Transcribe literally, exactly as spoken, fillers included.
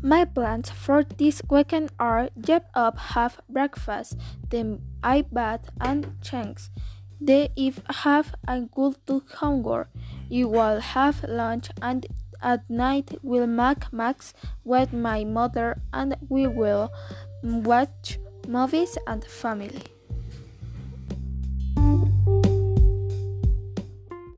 My plans for this weekend are get up, have breakfast, then I bath and change. Then if have a good to homework, you will have lunch and at night we'll make max with my mother and we will watch movies and family.